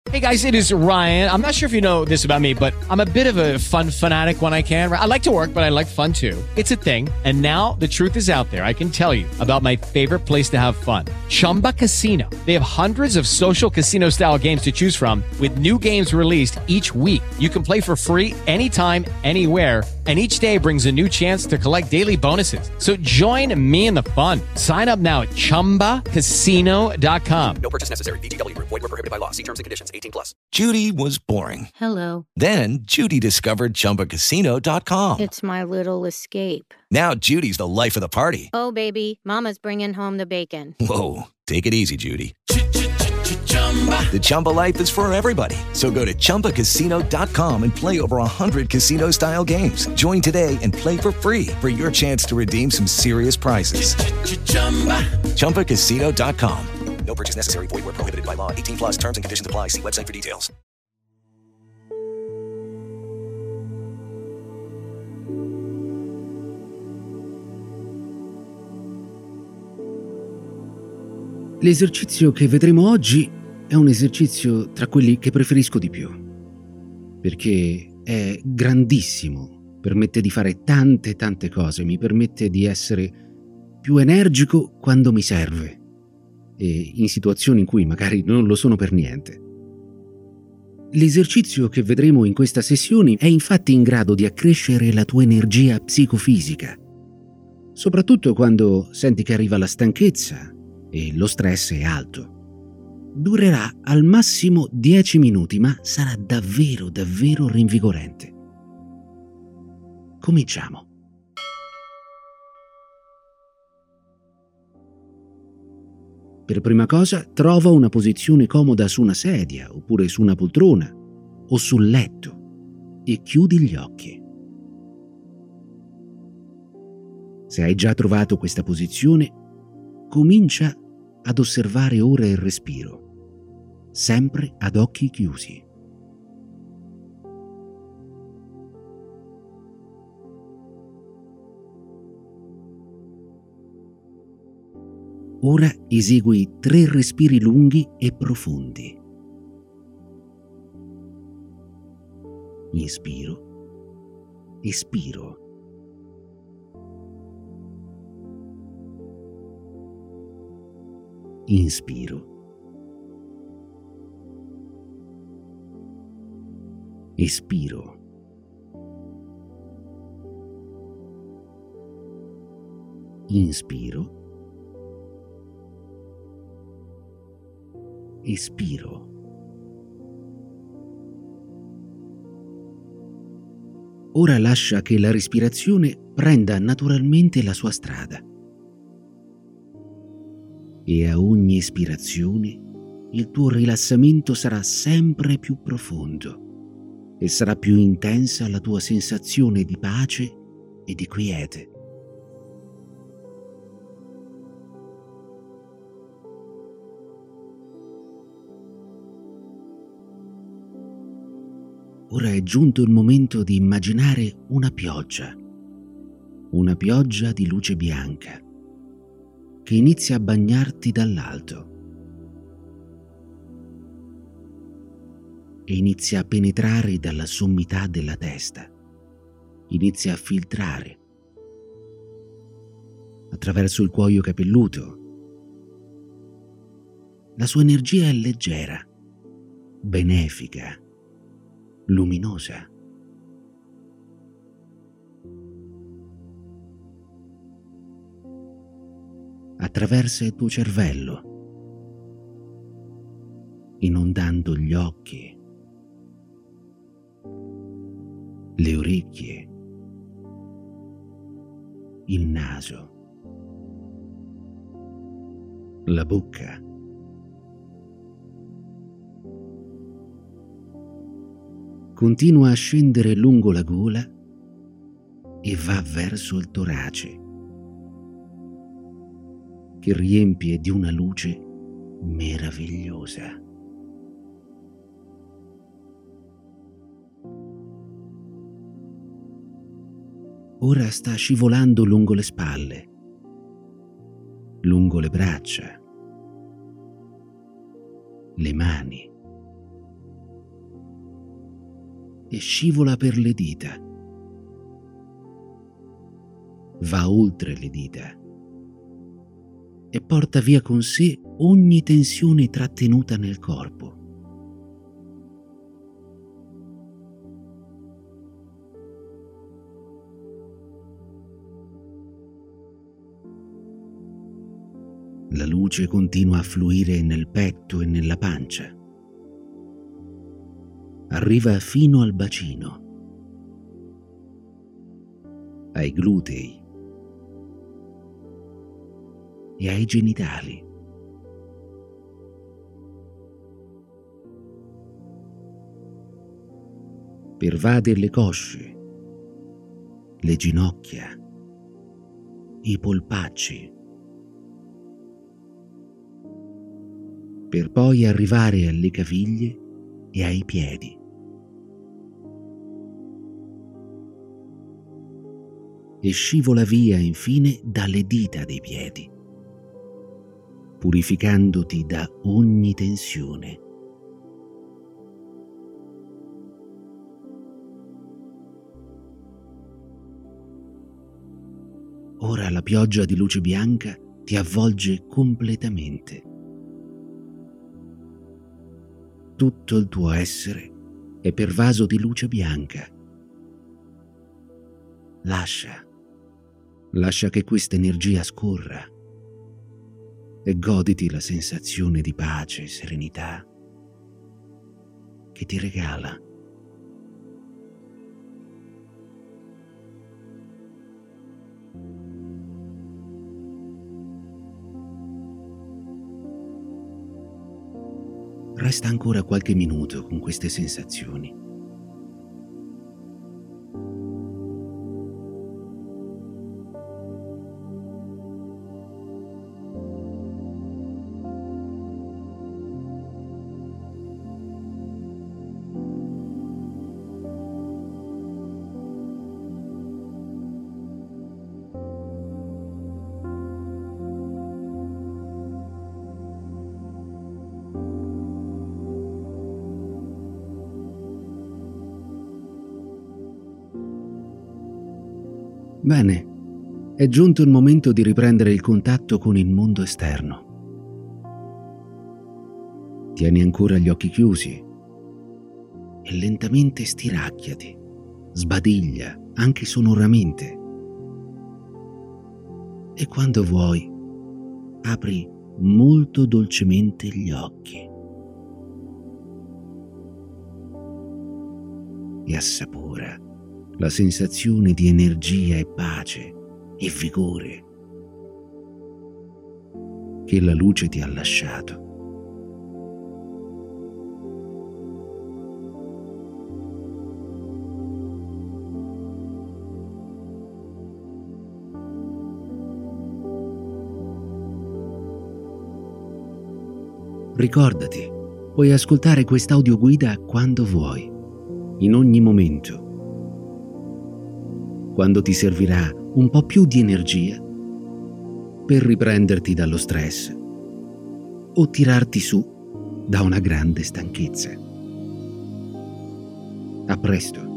Hey guys, it is Ryan. I'm not sure if you know this about me, but I'm a bit of a fun fanatic when I can. I like to work, but I like fun too. It's a thing. And now the truth is out there. I can tell you about my favorite place to have fun. Chumba Casino. They have hundreds of social casino style games to choose from with new games released each week. You can play for free anytime, anywhere. And each day brings a new chance to collect daily bonuses. So join me in the fun. Sign up now at ChumbaCasino.com. No purchase necessary. VGW. Void where prohibited by law. See terms and conditions. 18+. Judy was boring. Hello. Then Judy discovered ChumbaCasino.com. It's my little escape. Now Judy's the life of the party. Oh, baby, mama's bringing home the bacon. Whoa, take it easy, Judy. The Chumba life is for everybody. So go to ChumbaCasino.com and play over 100 casino-style games. Join today and play for free for your chance to redeem some serious prizes. ChumbaCasino.com. No purchase necessary. Void where prohibited by law. 18+. Terms and conditions apply. See website for details. L'esercizio che vedremo oggi è un esercizio tra quelli che preferisco di più, perché è grandissimo, permette di fare tante cose, mi permette di essere più energico quando mi serve e in situazioni in cui magari non lo sono per niente. L'esercizio che vedremo in questa sessione è infatti in grado di accrescere la tua energia psicofisica, soprattutto quando senti che arriva la stanchezza e lo stress è alto. Durerà al massimo 10 minuti, ma sarà davvero rinvigorente. Cominciamo. Per prima cosa, trova una posizione comoda su una sedia, oppure su una poltrona, o sul letto, e chiudi gli occhi. Se hai già trovato questa posizione, comincia ad osservare ora il respiro, sempre ad occhi chiusi. Ora esegui 3 respiri lunghi e profondi. Inspiro, espiro. Inspiro, espiro. Inspiro, espiro. Ora lascia che la respirazione prenda naturalmente la sua strada. E a ogni espirazione il tuo rilassamento sarà sempre più profondo e sarà più intensa la tua sensazione di pace e di quiete. Ora è giunto il momento di immaginare una pioggia di luce bianca che inizia a bagnarti dall'alto e inizia a penetrare dalla sommità della testa, inizia a filtrare attraverso il cuoio capelluto. La sua energia è leggera, benefica, luminosa. Attraversa il tuo cervello, inondando gli occhi, le orecchie, il naso, la bocca. Continua a scendere lungo la gola e va verso il torace, che riempie di una luce meravigliosa. Ora sta scivolando lungo le spalle, lungo le braccia, le mani, e scivola per le dita. Va oltre le dita e porta via con sé ogni tensione trattenuta nel corpo. La luce continua a fluire nel petto e nella pancia. Arriva fino al bacino, ai glutei e ai genitali. Pervade le cosce, le ginocchia, i polpacci, per poi arrivare alle caviglie e ai piedi. E scivola via infine dalle dita dei piedi, purificandoti da ogni tensione. Ora la pioggia di luce bianca ti avvolge completamente. Tutto il tuo essere è pervaso di luce bianca. Lascia che questa energia scorra e goditi la sensazione di pace e serenità che ti regala. Resta ancora qualche minuto con queste sensazioni. Bene, è giunto il momento di riprendere il contatto con il mondo esterno. Tieni ancora gli occhi chiusi e lentamente stiracchiati, sbadiglia anche sonoramente. E quando vuoi, apri molto dolcemente gli occhi e assapora la sensazione di energia e pace e vigore che la luce ti ha lasciato. Ricordati, puoi ascoltare quest'audioguida quando vuoi, in ogni momento. Quando ti servirà un po' più di energia per riprenderti dallo stress o tirarti su da una grande stanchezza. A presto.